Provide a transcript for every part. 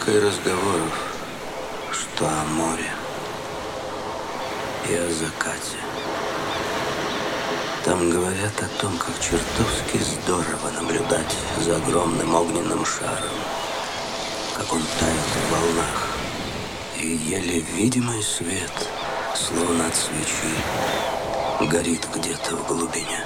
только и разговоров, что о море и о закате. Там говорят о том, как чертовски здорово наблюдать за огромным огненным шаром, как он тает в волнах, и еле видимый свет, словно от свечи, горит где-то в глубине.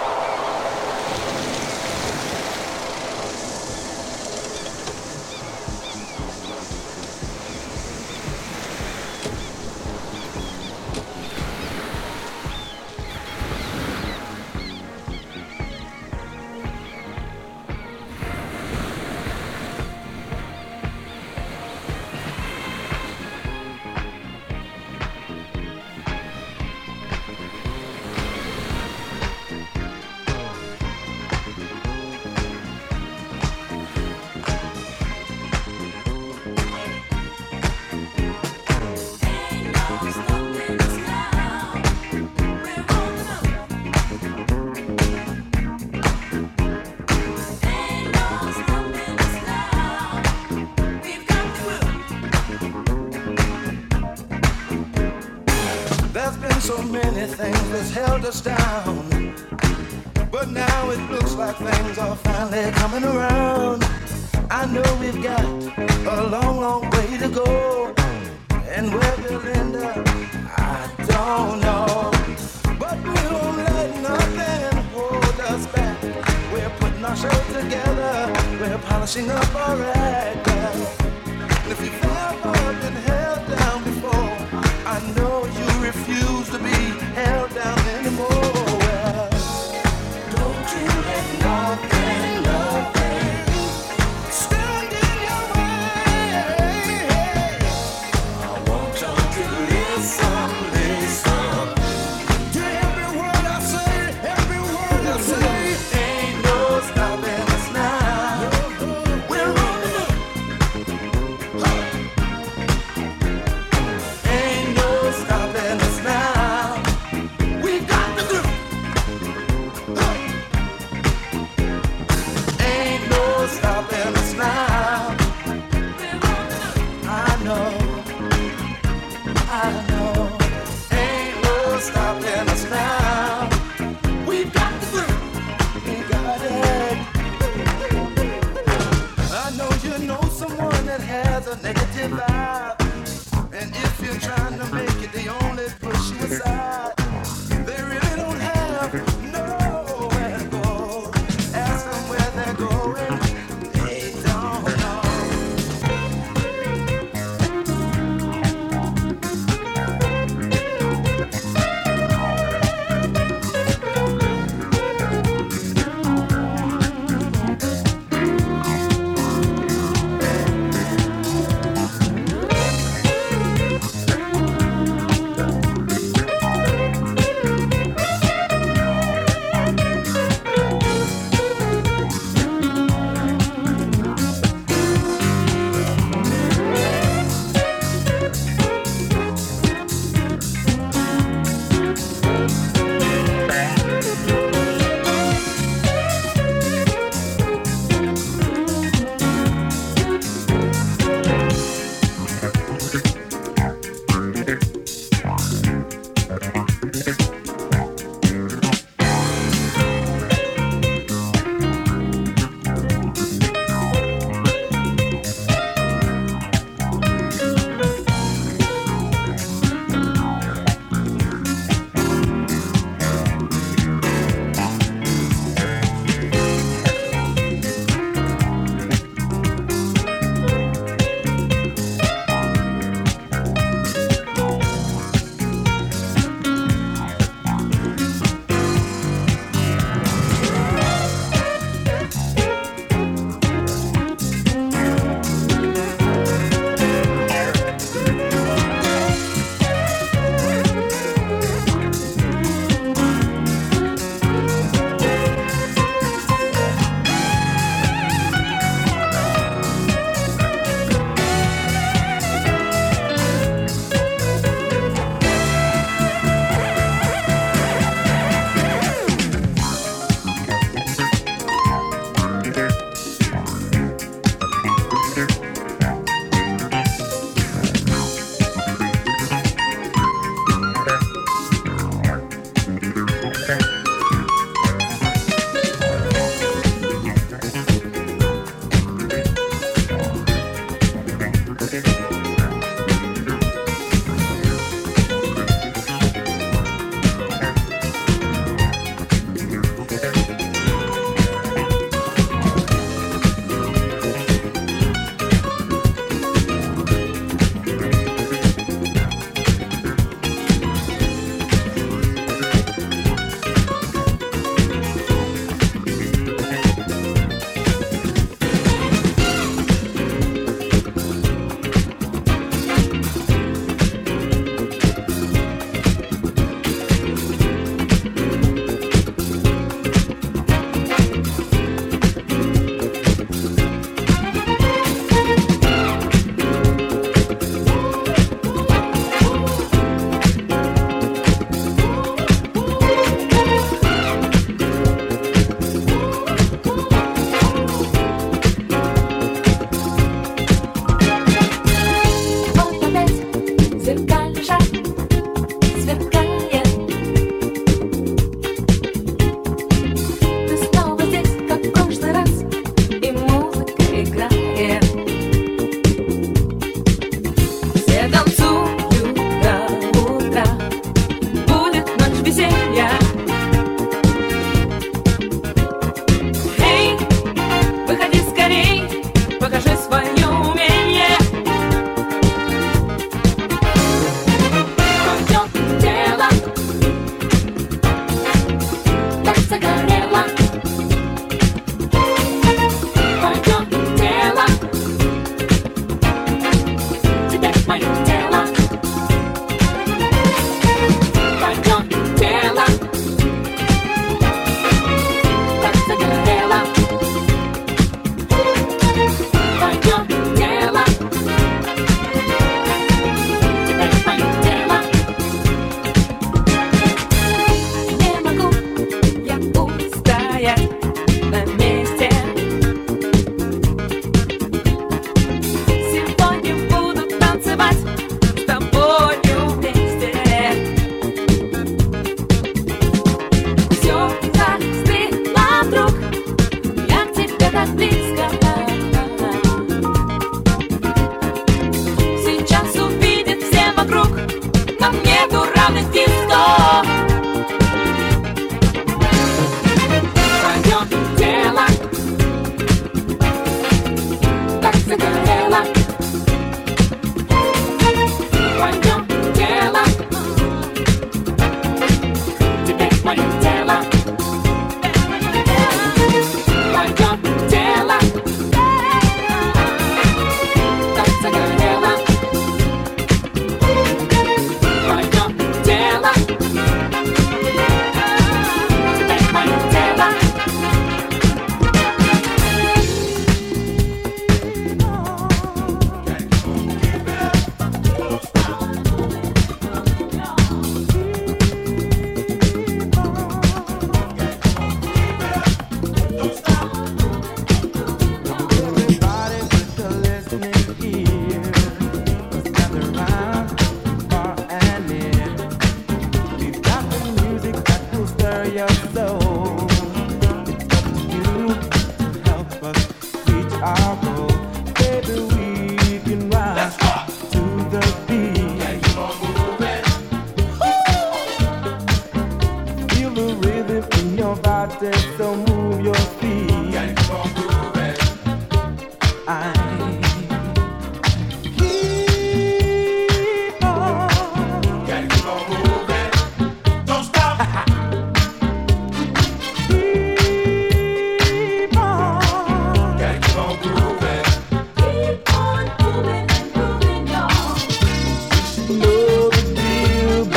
So many things that's held us down, but now it looks like things are finally coming around. I know we've got a long, long way to go, and where we'll end up, I don't know. But we won't let nothing hold us back. We're putting our show together, we're polishing up our act. And if you've ever been held down before, I know you refuse to be held down anymore. Well, don't you let nothing stand in your way. I want you to listen to every word I say, every word I say. Ain't no stopping us now. We're on the move. Ain't no stopping us now. We got the groove. Ain't no stopping us now. I know. Ain't no stopping us now. We got the groove. We got it. I know you know someone that has a negative vibe. And if you're trying to make it, they only push you aside. They really don't have nowhere to go. Ask them where they're going, they don't know.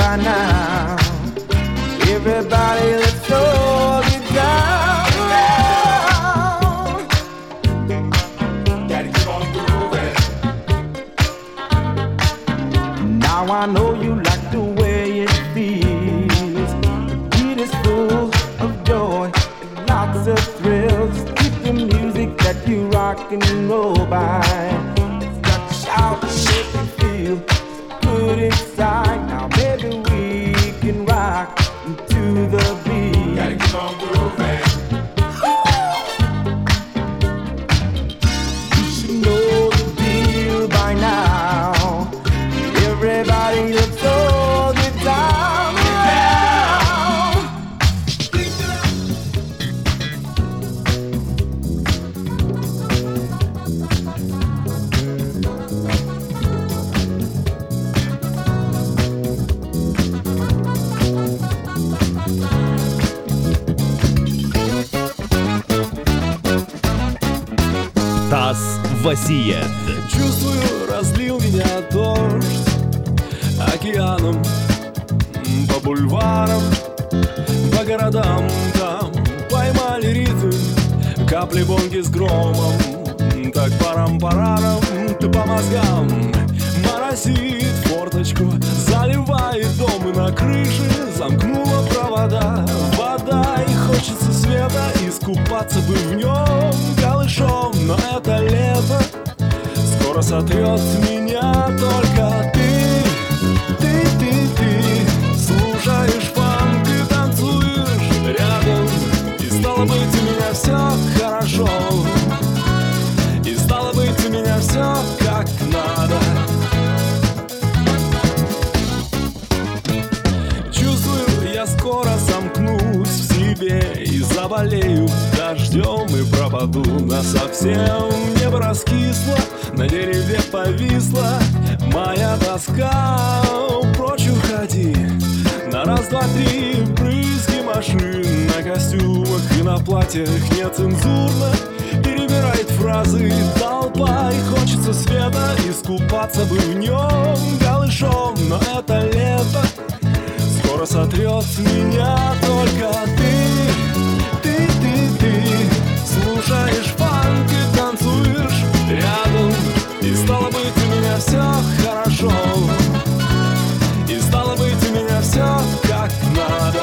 by now. Everybody, let's all get down. Gotta keep on moving. Now I know you like the way it feels. The beat is full of joy and lots of thrills. Keep the music that you rock and roll by. It's got to shout and make you feel good inside. Now maybe we can rock to the beat. Gotta keep on grooving. You should know the deal by now. Everybody, let's all get down. Стас Васиет. Чувствую, разлил меня дождь океаном, по бульварам, по городам. Там поймали ритм капли бонги с громом. Так парам-парарам, ты по мозгам моросит форточку, заливает дом и на крыше замкнула провода. Вода, и хочется света, искупаться бы в нем голышом. Но это лето скоро сотрет меня. Только ты слушаешь фанк и танцуешь рядом. И стало быть, у меня все хорошо. И стало быть, у меня все как надо. Чувствую, я скоро замкнусь в себе и заболею дождем и пропаду насовсем. Небо раскисло, на дереве повисла моя тоска. Прочь уходи, на раз, два, три брызги машин на костюмах и на платьях нецензурно перебирает фразы толпа. И хочется света, искупаться бы в нем голышом. Но это лето скоро сотрет меня. Только ты слушаешь фанк и танцуешь рядом. И стало быть, у меня все хорошо. И стало быть, у меня все как надо.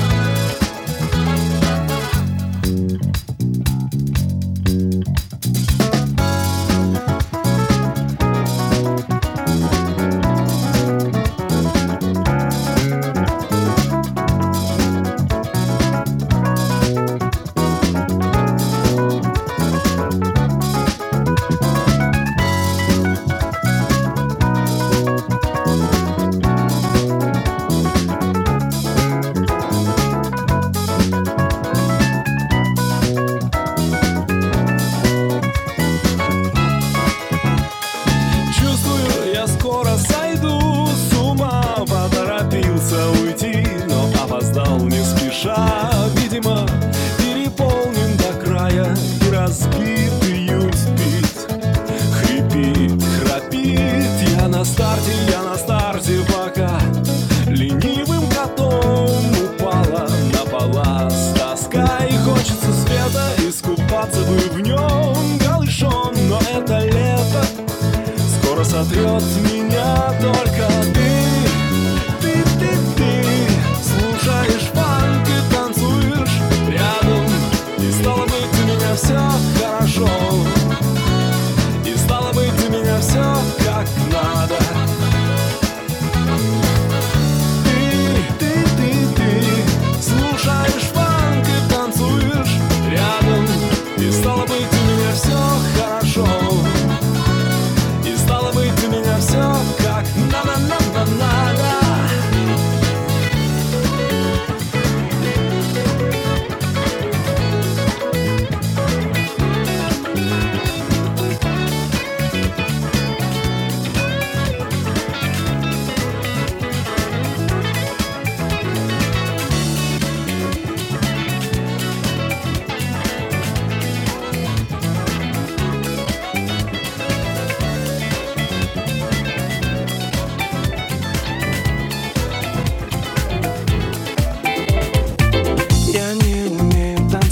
Видимо, переполнен до края и разбитый юнспид хрипит, храпит. Я на старте, пока ленивым котом упала на палас тоска. И хочется света, искупаться бы в нем голышом. Но это лето скоро сотрет меня. Только ты слушаешь фанк и танцуешь рядом. И стало быть, у меня все хорошо. И стало быть, у меня все как надо. Ты слушаешь фанк и танцуешь рядом. И стало быть, у меня все хорошо. И стало быть, у меня все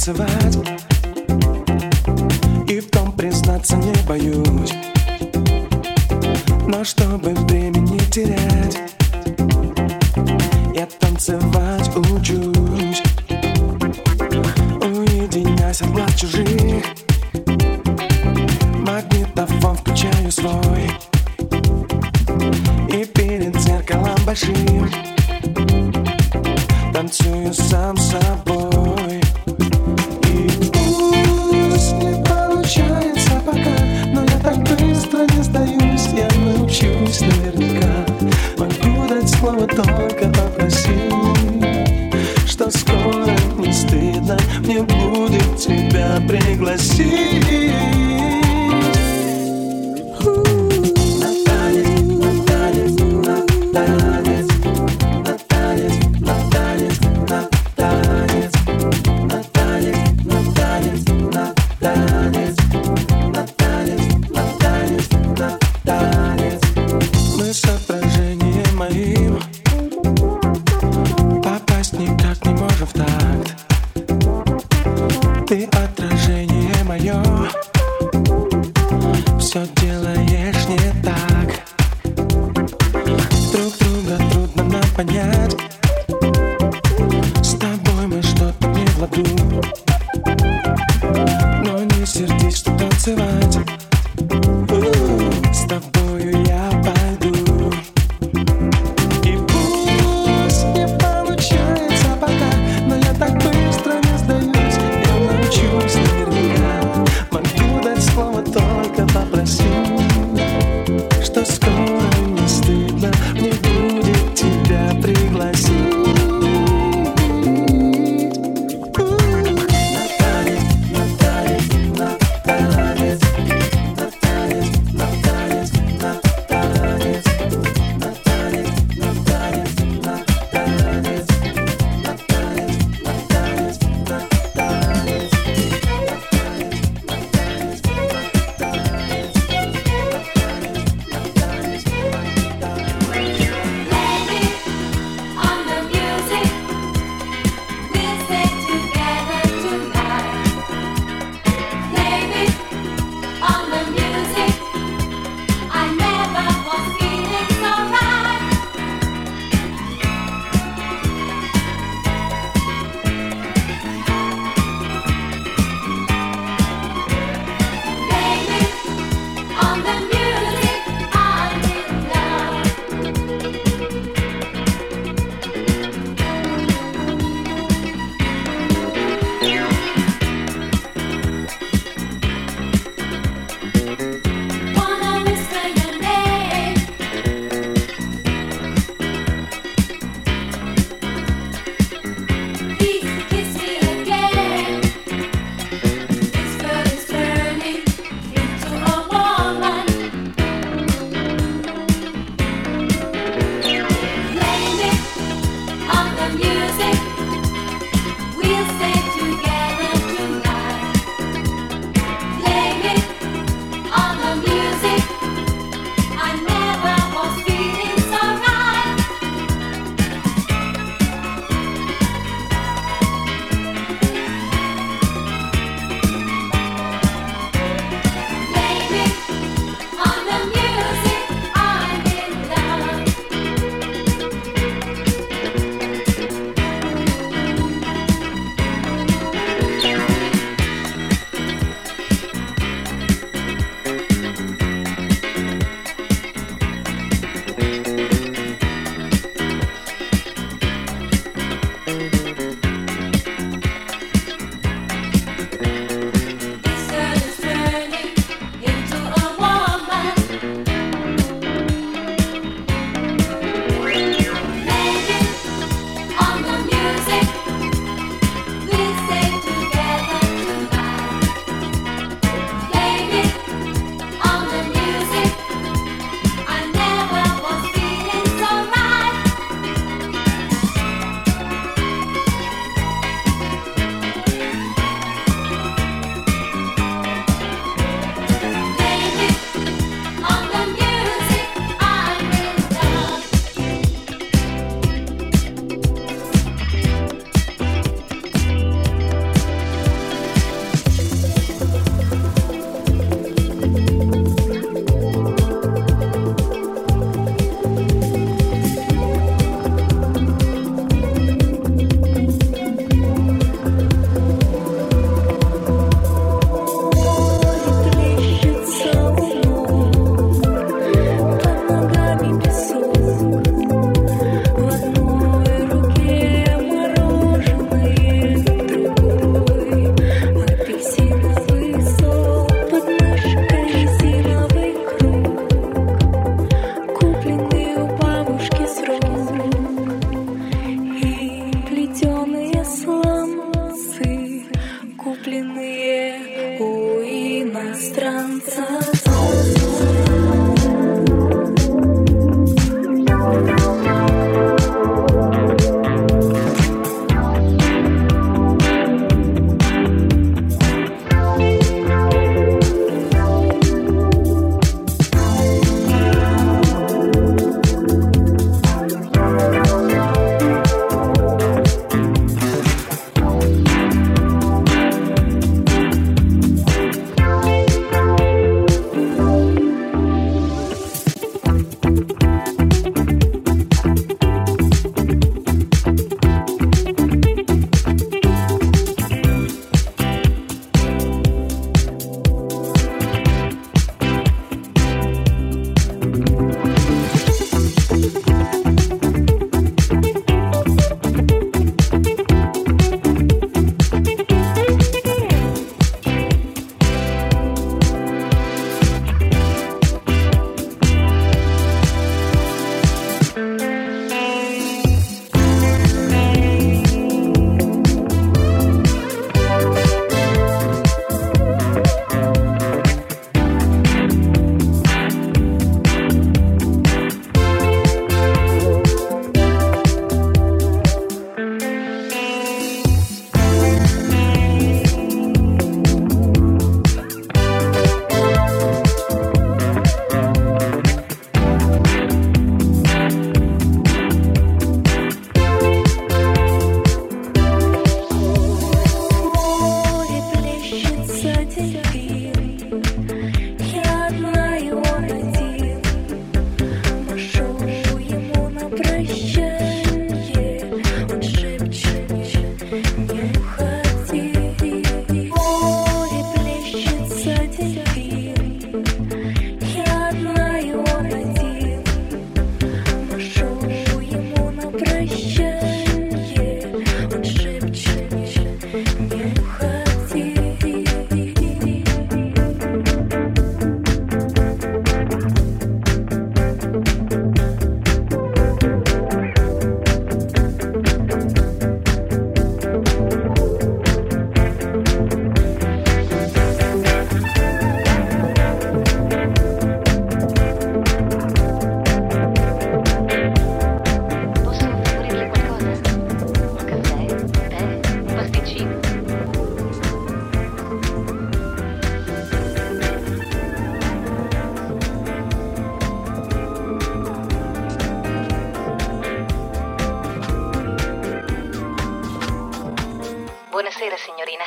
танцевать, и в том признаться не боюсь. Но чтобы время не терять, я танцевать учусь. Уединяясь от глаз чужих, магнитофон включаю свой, и перед зеркалом большим танцую сам с собой. И пусть не получается пока, но я так быстро не сдаюсь. Я научусь наверняка, могу дать слово, только попроси, что скоро не стыдно мне будет тебя пригласить. Мы с отражением моим попасть никак не можем в такт. Ты отражение мое, все делаешь не так. Друг друга трудно нам понять, с тобой мы что-то не в ладу. Но не сердись, что танцевать с тобою я пойду. И пусть не получается пока, но я так быстро не сдаюсь. Я научусь наверняка, могу дать слово, только попроси, что скоро не стыдно мне будет тебя пригласить. On the Buonasera signorina.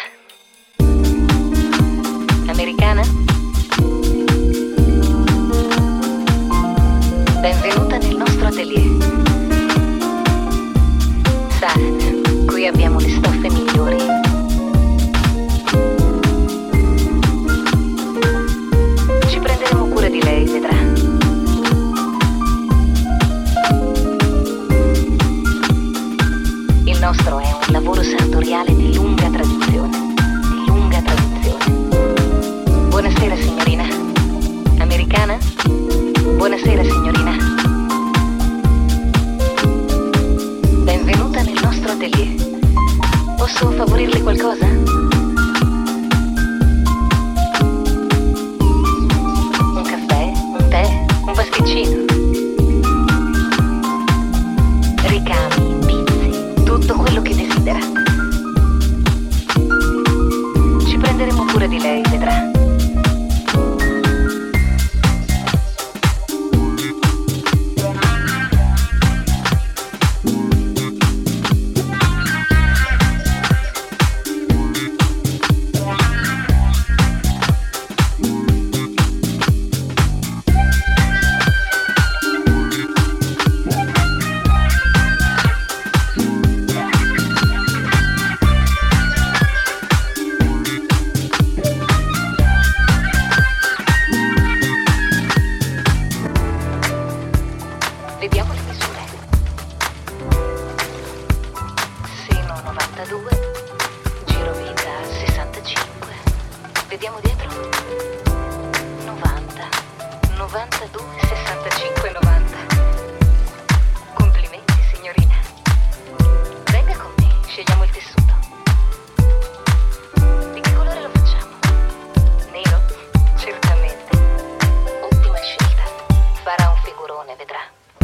Americana? Benvenuta nel nostro atelier. Sa, qui abbiamo le stoffe migliori. Ci prenderemo cura di lei, vedrà. Il nostro è un lavoro sartoriale di lunga tradizione. Di lunga tradizione. Buonasera signorina. Americana? Buonasera signorina. Benvenuta nel nostro atelier. Posso favorirle qualcosa? Un caffè? Un tè? Un pasticcino? Ricami, pizzi, tutto quello che desidera. Ci prenderemo cura di lei, vedrà. Vediamo le misure. Seno 92, girovita 65. Vediamo dietro. 90, 92, 65, 90. Complimenti signorina. Venga con me, scegliamo il tessuto. Di che colore lo facciamo? Nero? Certamente. Ottima scelta. Farà un figurone, vedrà.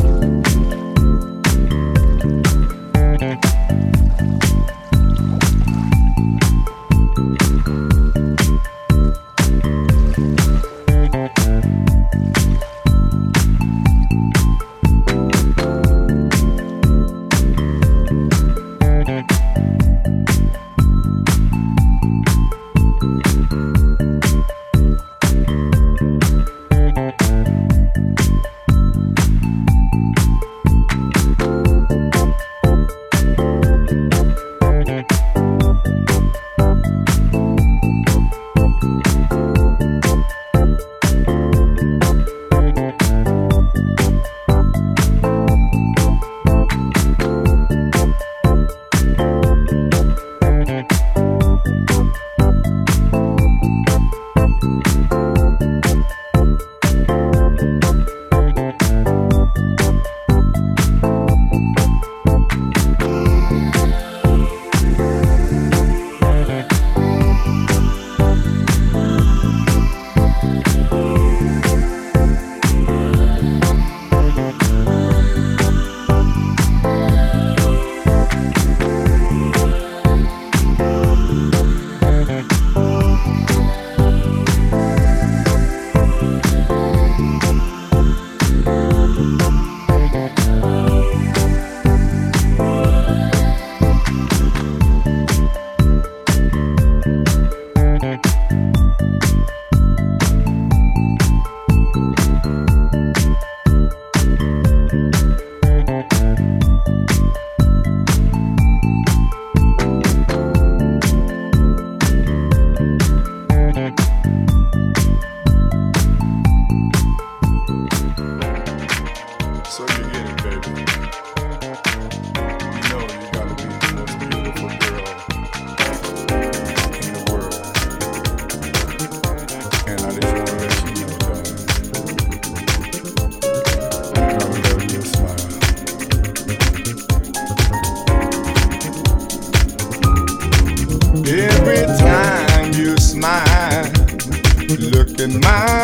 Every time you smile, looking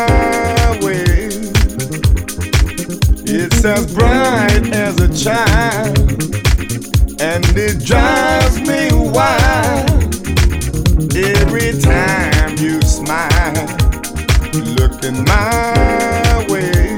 my way, it's as bright as a child, and it drives me wild. Every time you smile, looking my way,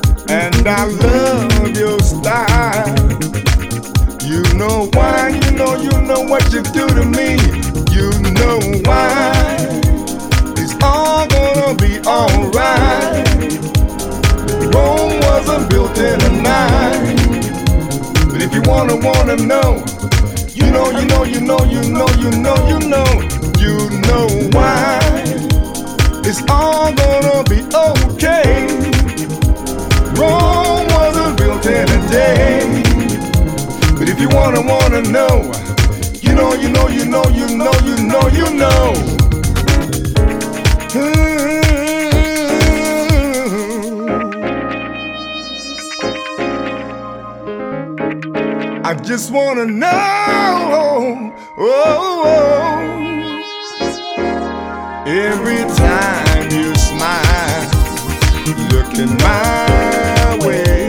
and I love your style. You know why, you know know what you do to me. You know why. It's all gonna be alright. Rome wasn't built in a night. But if you wanna know, you know why. It's all gonna be okay. Rome wasn't built in a day. But if you wanna know, you know. I just wanna know, every time you smile, looking my way,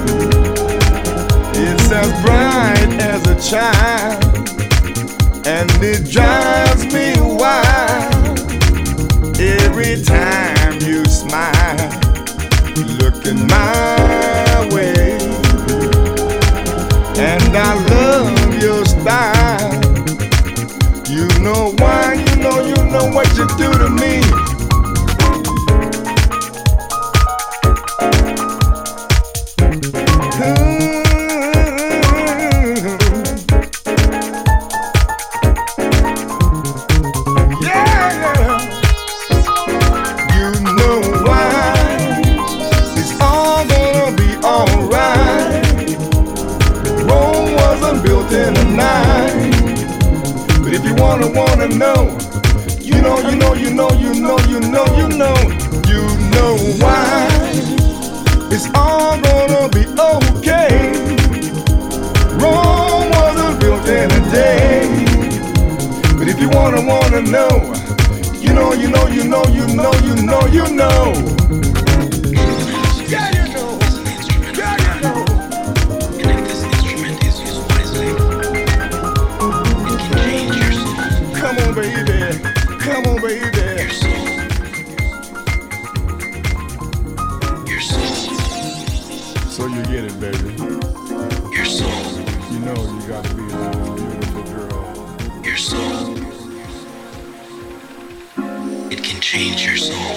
it's as bright as a child, and it drives me wild. Every time you smile, looking my way, and I love your style. You know why, you know what you do to me. Wanna know, you know why. It's all gonna be okay. Rome wasn't built in a day. But if you wanna know, you know. Come on, baby. Your soul. So you get it, baby. Your soul. You know you gotta be a beautiful girl. Your soul. It can change your soul.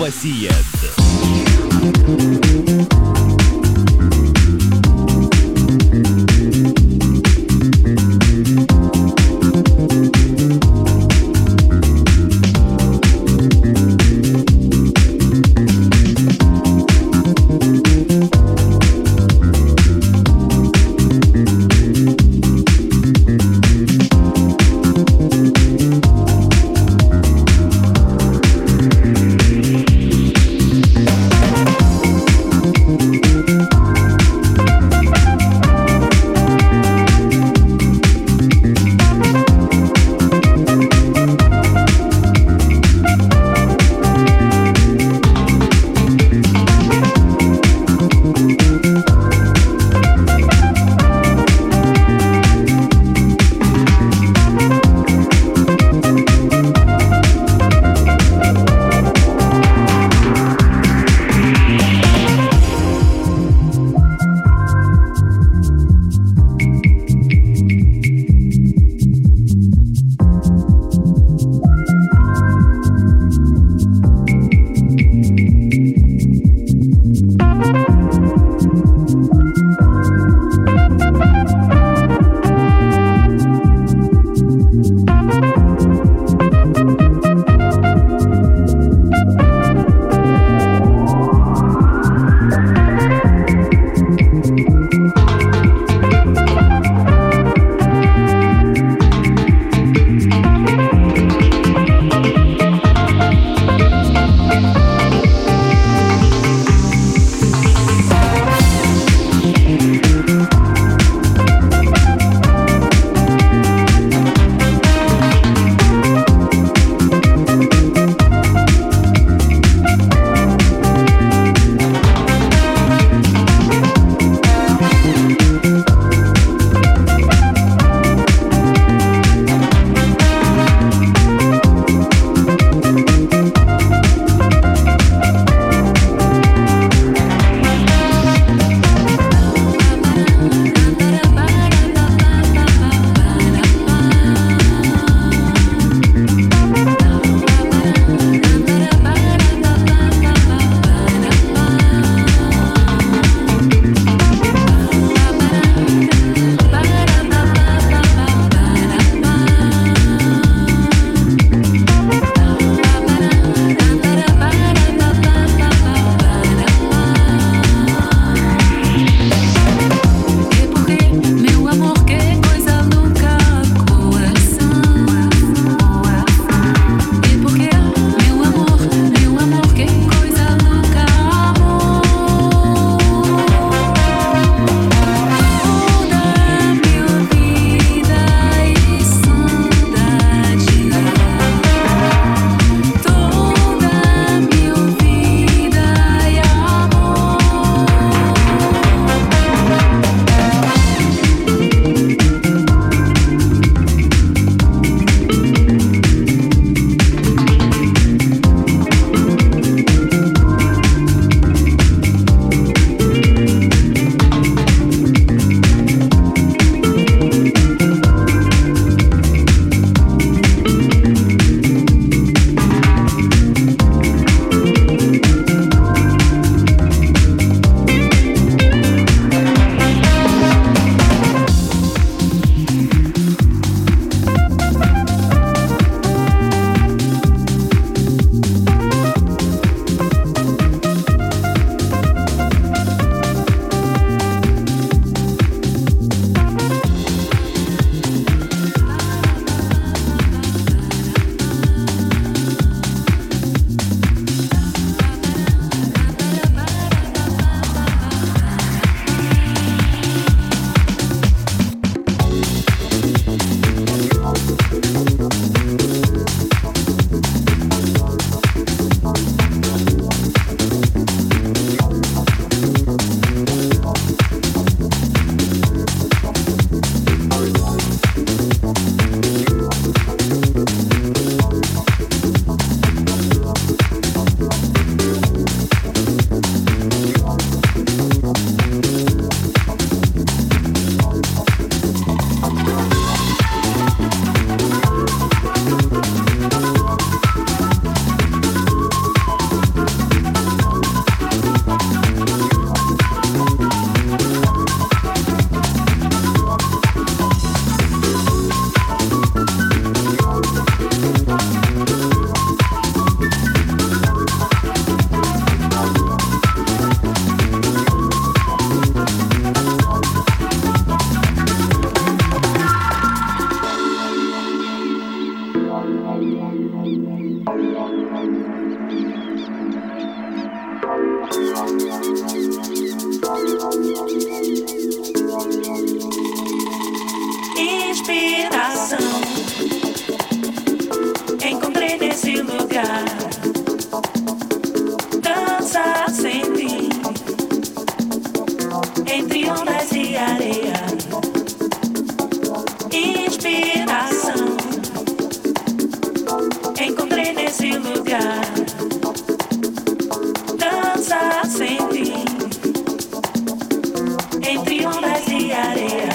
Васиет. encontrei nesse lugar. Dança sem fim, entre ondas e areia. Inspiração, encontrei nesse lugar. Dança sem fim, entre ondas e areia.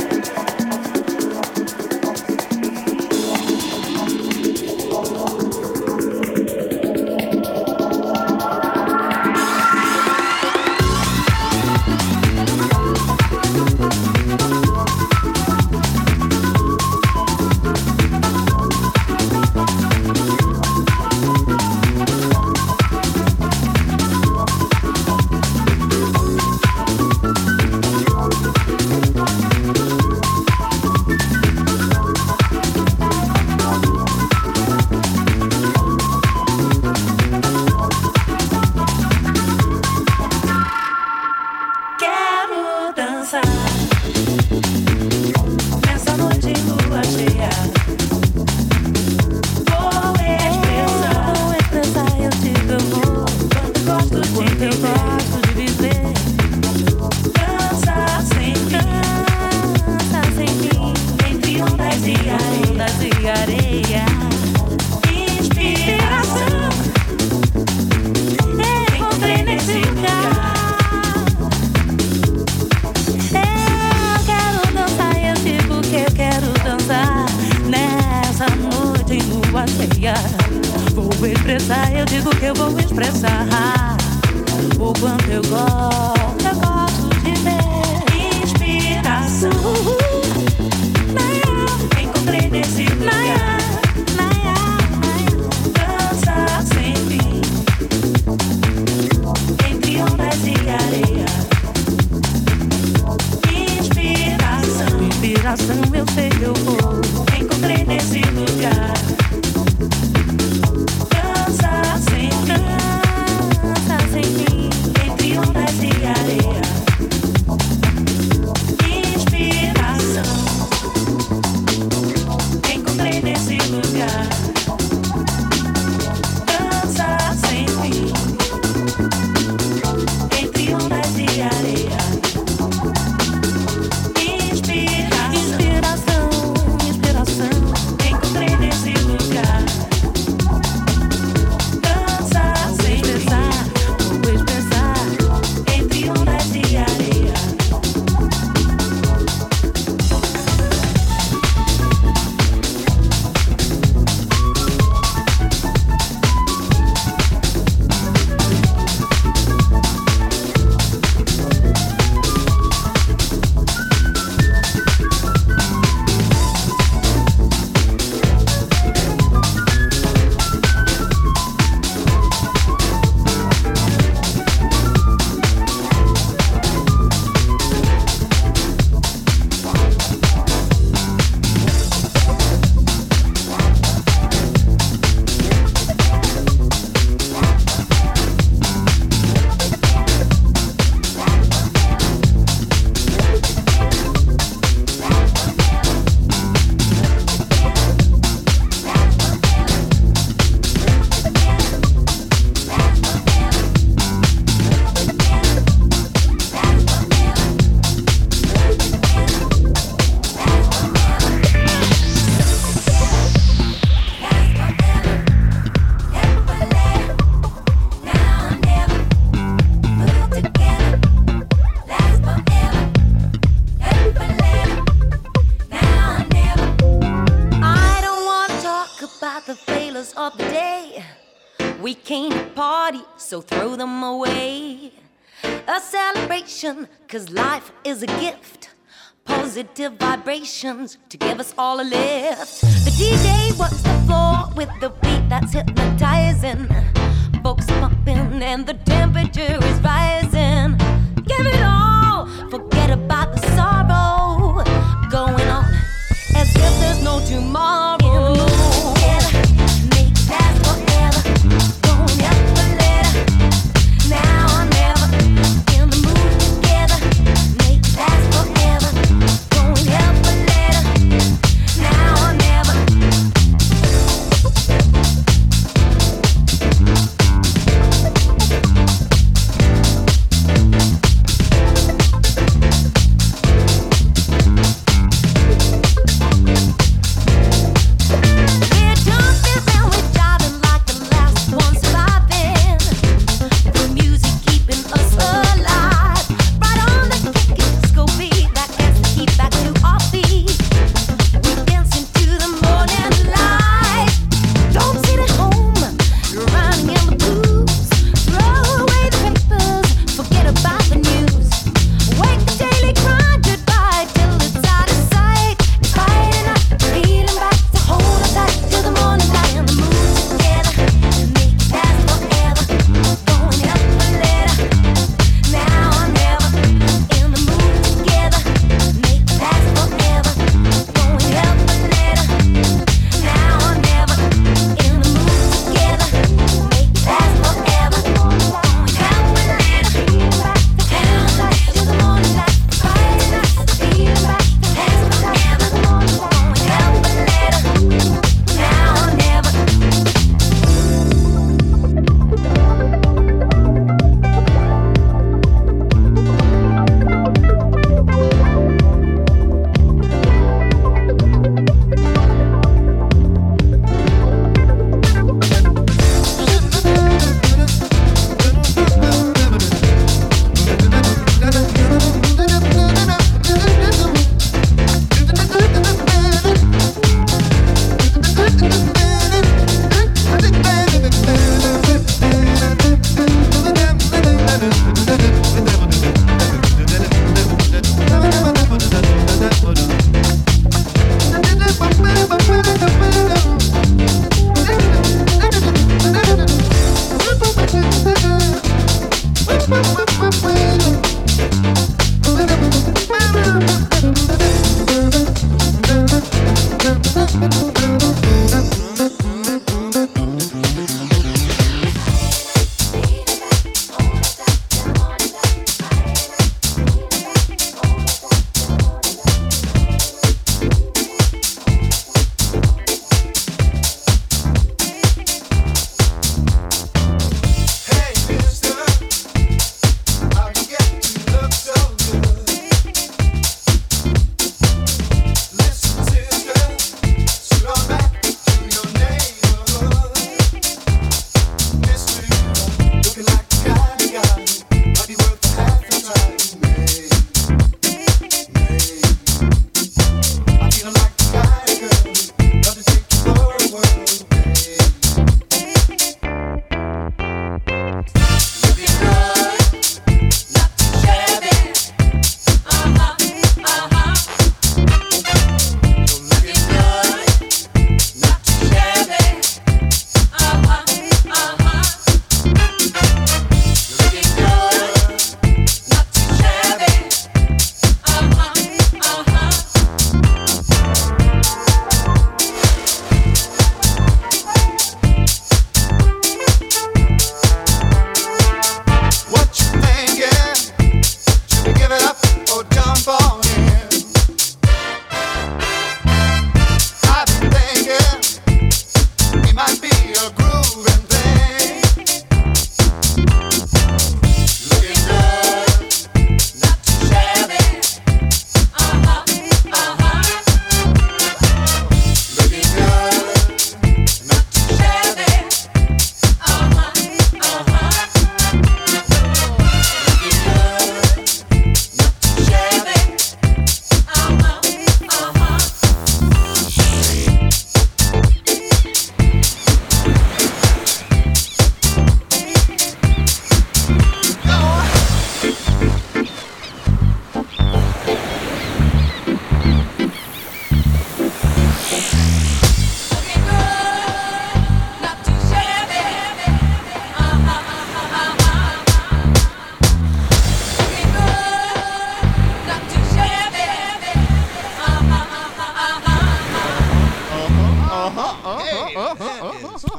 So throw them away. A celebration, 'cause life is a gift. Positive vibrations to give us all a lift. The DJ works the floor with the beat that's hypnotizing. Folks pumping and the temperature is rising. Give it all, forget about the sorrow. Going on as if there's no tomorrow.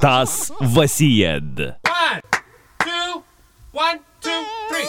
Стас Васиед. 1, 2, 3.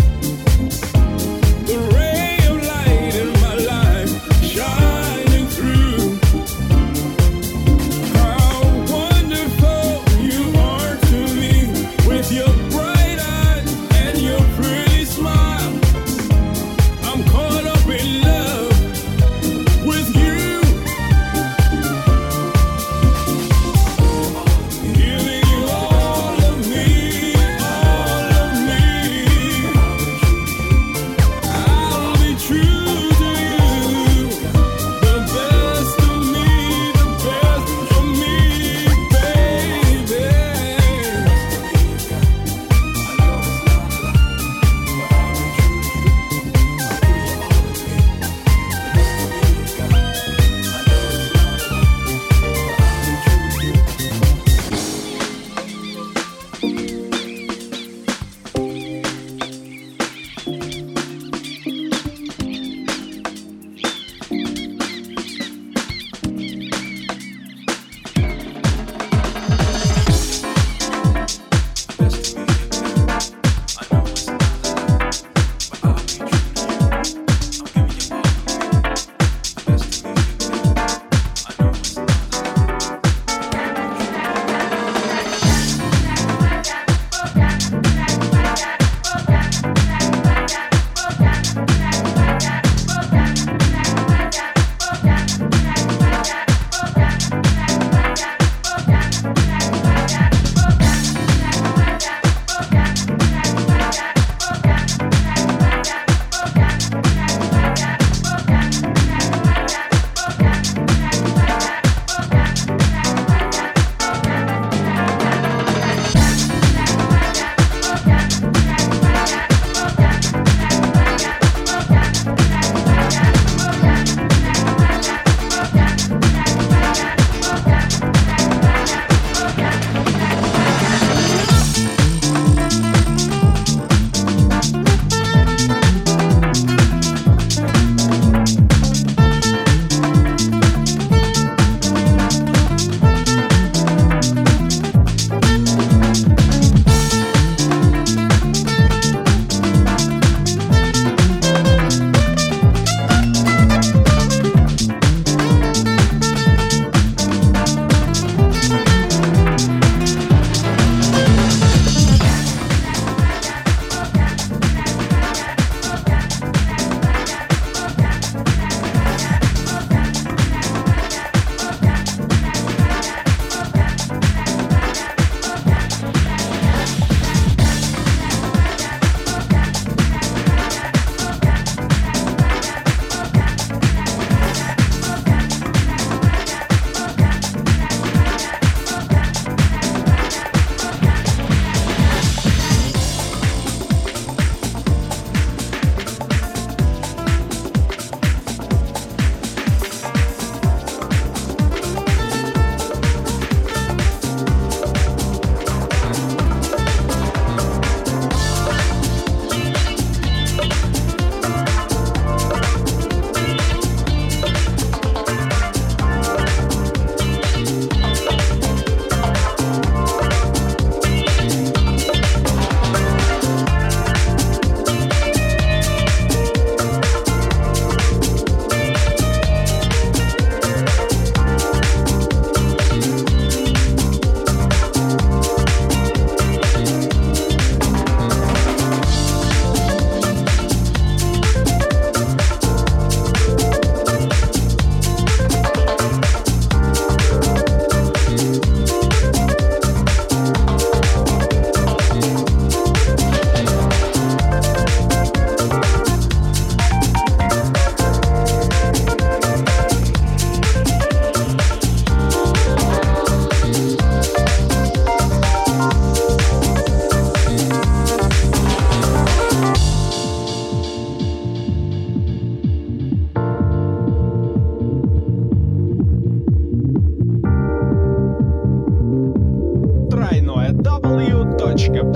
Shining through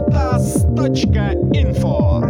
Stardust.info.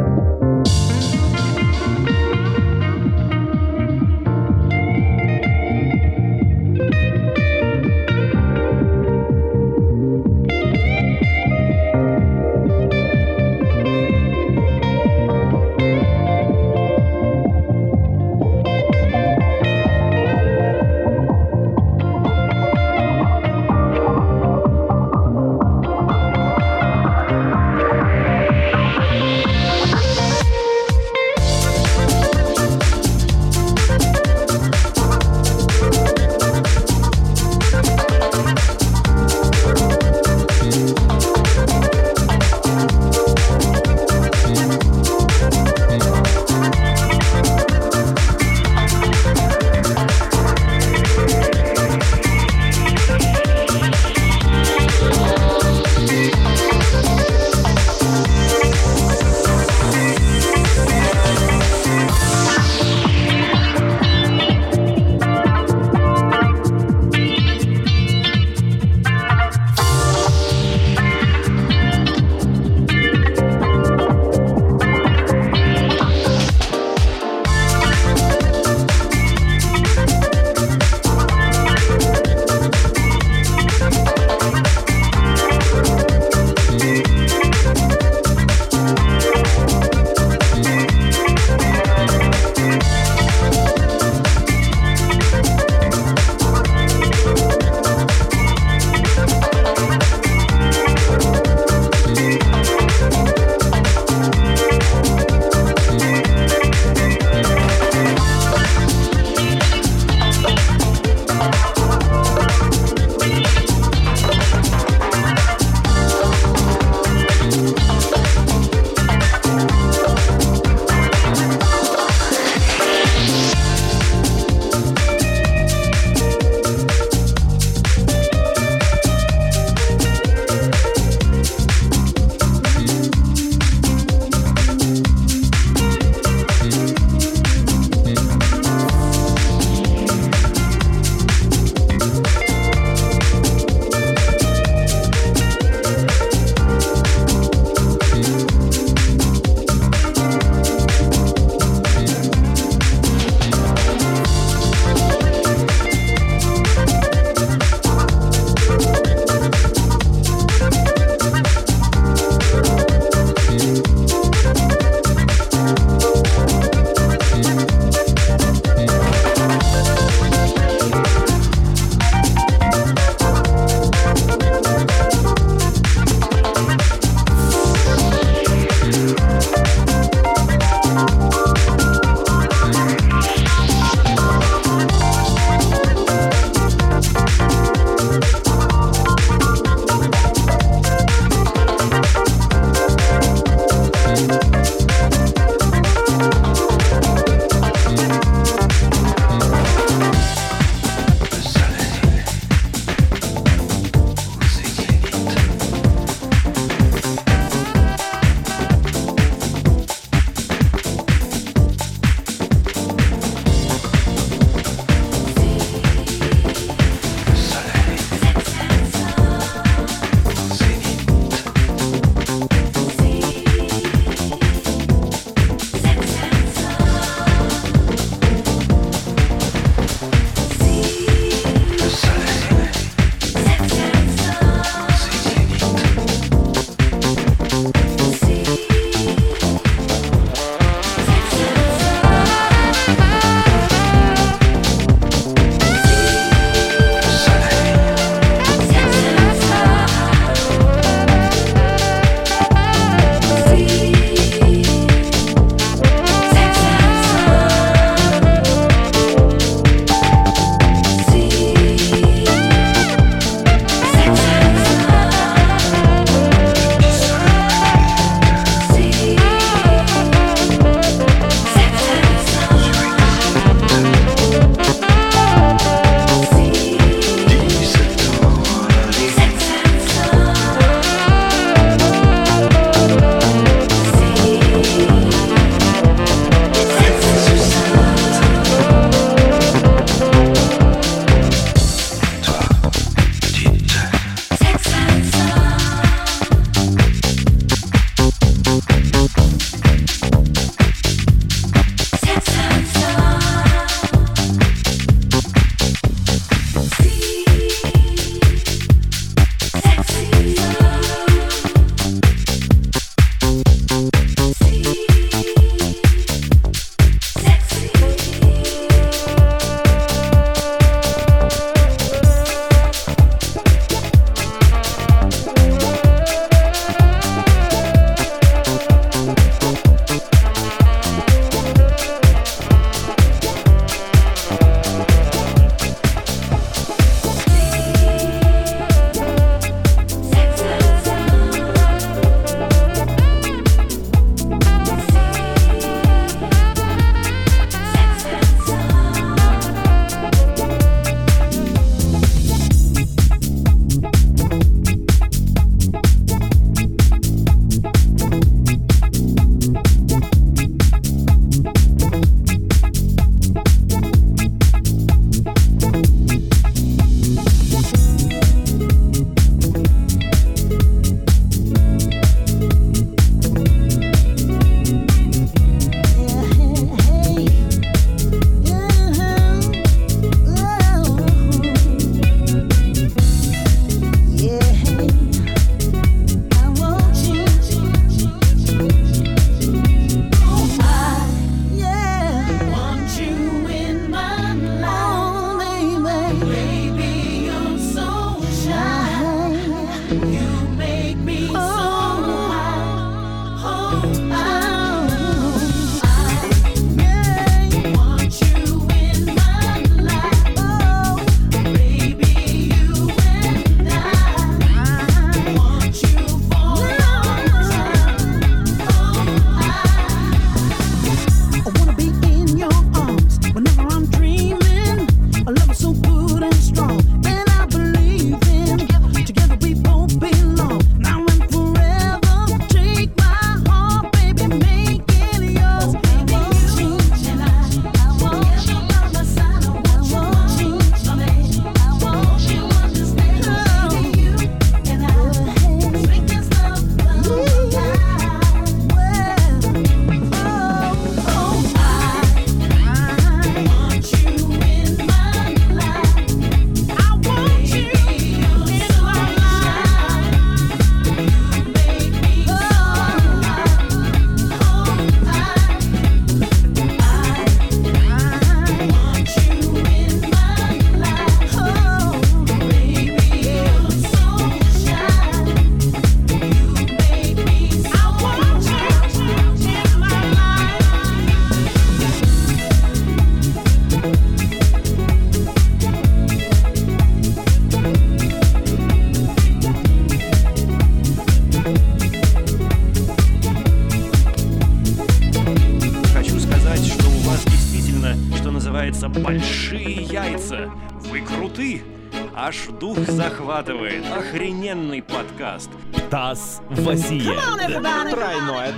большие яйца. Вы круты. Аж дух захватывает. Охрененный подкаст. ТАСС Васиед. Тройное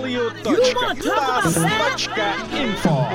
w.tas.info.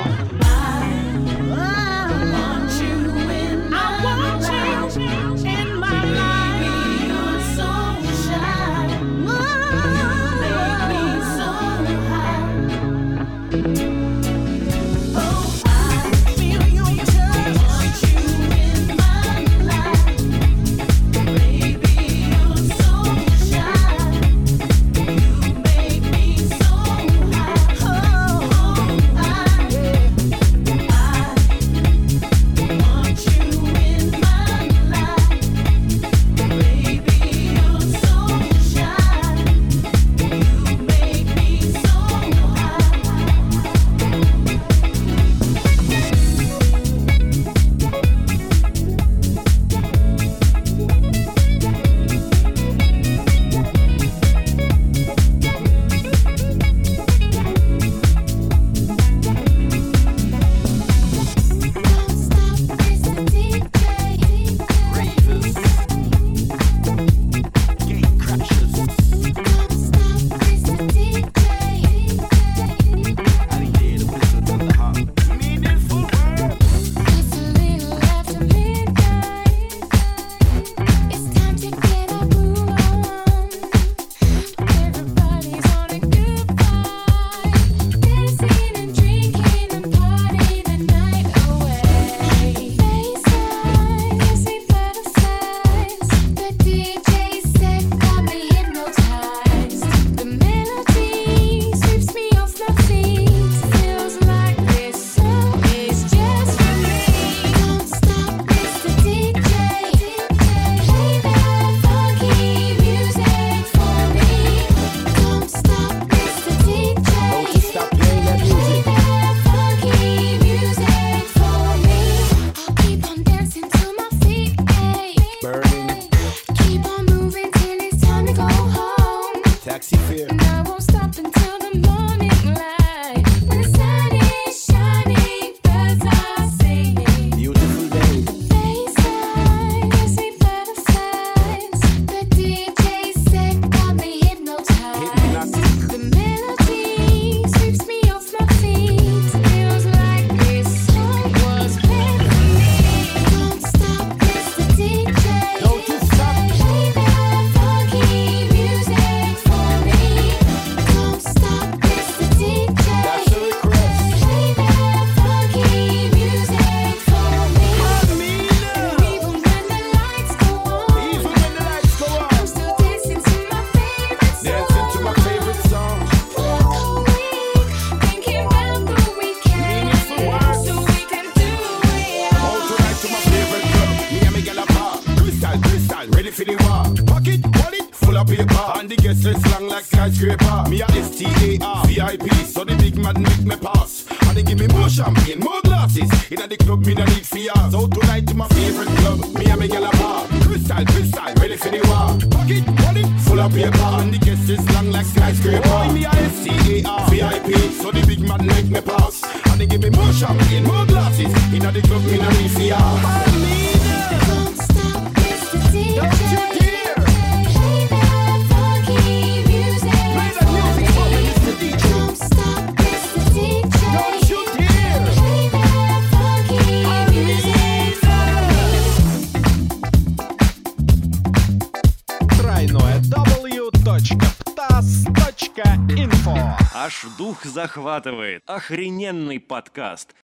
Skyscraper, me a STAR VIP, so the big man make me pass. And they give me more champagne, more glasses. In the club, me no need fears. Out tonight to my favorite club, me and me gal a bar. Crystal, ready for the war. Pocket, wallet, full of paper. And the guest is long like skyscraper. Oh, me a STAR VIP, so the big man make me pass. And they give me more champagne, more glasses. In the club, me no need fears. Don't stop, it's the DJ. Don't you dare. Аж дух захватывает. Охрененный подкаст.